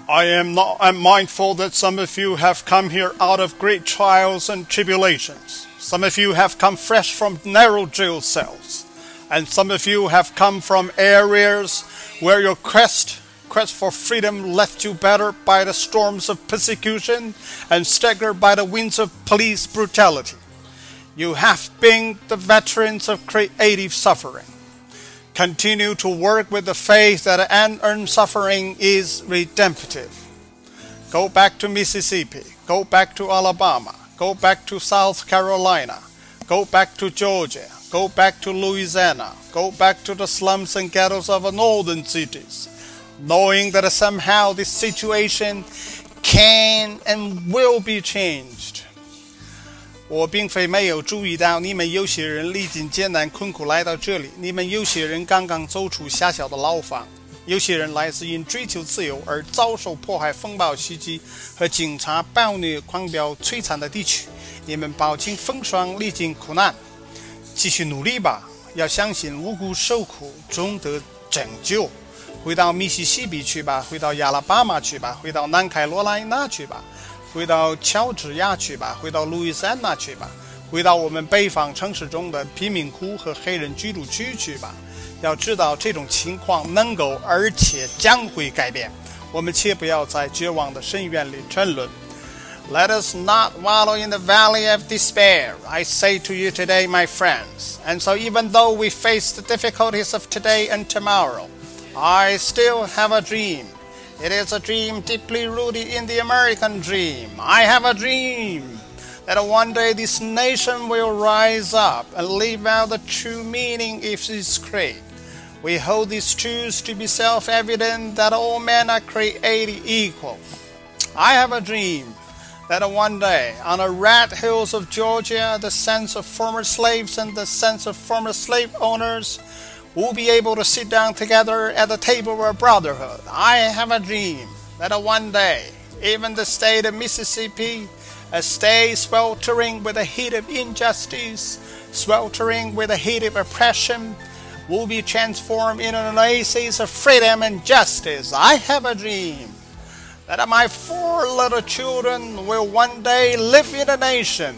I'm mindful that some of you have come here out of great trials and tribulations. Some of you have come fresh from narrow jail cells. And some of you have come from areas where your quest for freedom left you battered by the storms of persecution and staggered by the winds of police brutality. You have been the veterans of creative suffering. Continue to work with the faith that unearned suffering is redemptive. Go back to Mississippi. Go back to Alabama. Go back to South Carolina. Go back to Georgia. Go back to Louisiana. Go back to the slums and ghettos of northern cities, knowing that somehow this situation can and will be changed. 我并非没有注意到你们有些人历经艰难困苦来到这里，你们有些人刚刚走出狭小的牢房，有些人来自因追求自由而遭受迫害、风暴袭击和警察暴虐狂飙摧残的地区。你们饱经风霜，历经苦难，继续努力吧！要相信无辜受苦终得拯救。回到密西西比去吧，回到亚拉巴马去吧，回到南卡罗来纳去吧，回到乔治亚去吧，回到路易斯安那去吧，回到我们北方城市中的贫民窟和黑人居住区去吧。要知道这种情况能够而且将会改变，我们切不要在绝望的深渊里沉沦。Let us not wallow in the valley of despair, I say to you today, my friends. And so even though we face the difficulties of today and tomorrow, I still have a dream. It is a dream deeply rooted in the American dream. I have a dream that one day this nation will rise up and live out the true meaning of its creed. We hold these truths to be self-evident that all men are created equal. I have a dream that one day, on the red hills of Georgia, the sons of former slaves and the sons of former slave owners will be able to sit down together at the table of brotherhood. I have a dream that one day, even the state of Mississippi, a state sweltering with the heat of injustice, sweltering with the heat of oppression, will be transformed into an oasis of freedom and justice. I have a dream that my 4 little children will one day live in a nation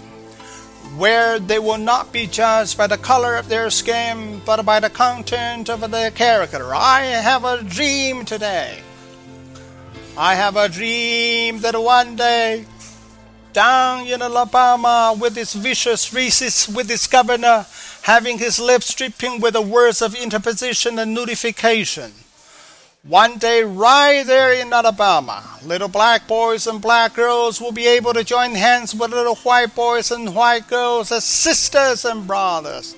where they will not be judged by the color of their skin, but by the content of their character. I have a dream today. I have a dream that one day, down in Alabama, with its vicious racist, with its governor having his lips dripping with the words of interposition and notification, one day, right there in Alabama, little black boys and black girls will be able to join hands with little white boys and white girls as sisters and brothers.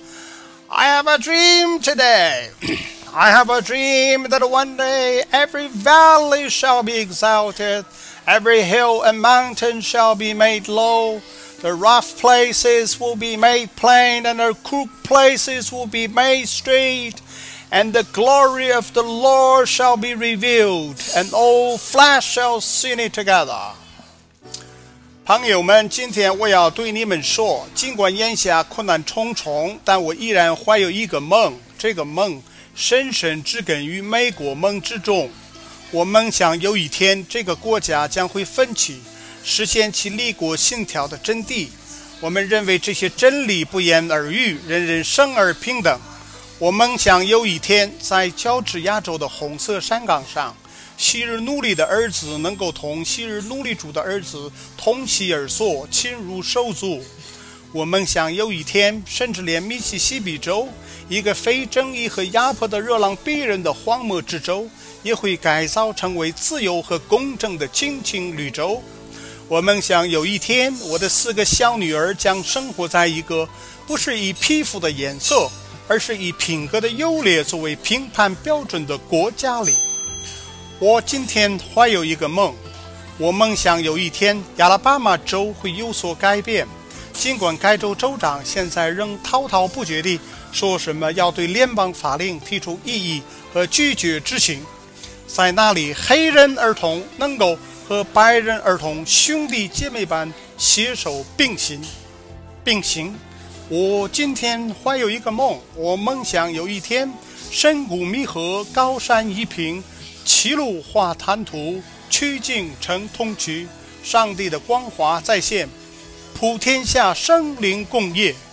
I have a dream today. I have a dream that one day every valley shall be exalted, every hill and mountain shall be made low, the rough places will be made plain, and the crooked places will be made straight. And the glory of the Lord shall be revealed, and all flesh shall see it together. 朋友们，今天我要对你们说，尽管眼下困难重重，但我依然怀有一个梦。这个梦深深植根于美国梦之中。我梦想有一天，这个国家将会奋起，实现其立国信条的真谛。我们认为这些真理不言而喻，人人生而平等。我梦想有一天，在乔治亚州的红色山岗上，昔日奴隶的儿子能够同昔日奴隶主的儿子同席而坐，亲如手足。我梦想有一天，甚至连密西西比州，一个非正义和压迫的热浪逼人的荒漠之州，也会改造成为自由和公正的亲情绿洲。我梦想有一天，我的4个小女儿将生活在一个不是以皮肤的颜色，而是以品格的优劣作为评判标准的国家里。我今天怀有一个梦，我梦想有一天亚拉巴马州会有所改变，尽管该州州长现在仍滔滔不绝地说什么要对联邦法令提出异议和拒绝执行，在那里黑人儿童能够和白人儿童兄弟姐妹般携手并行。我今天怀有一个梦，我梦想有一天深谷弥合，高山一平，齐鲁画滩涂， 曲径成通衢，上帝的光华再现，普天下生灵共业。